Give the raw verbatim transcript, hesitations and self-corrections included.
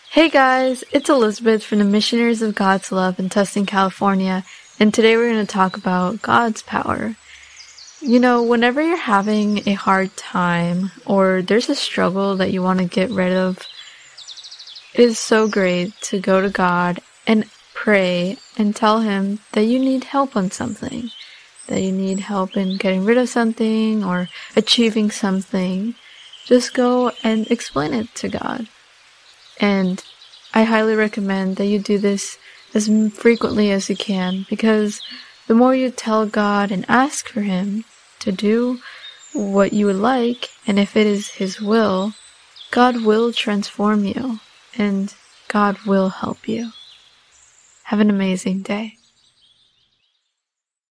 Hey guys, it's Elizabeth from the Missionaries of God's Love in Tustin, California, and today we're going to talk about God's power. You know, whenever you're having a hard time or there's a struggle that you want to get rid of, it is so great to go to God and pray and tell Him that you need help on something, that you need help in getting rid of something or achieving something. Just go and explain it to God. And I highly recommend that you do this as frequently as you can, because the more you tell God and ask for Him to do what you would like, and if it is His will, God will transform you and God will help you. Have an amazing day.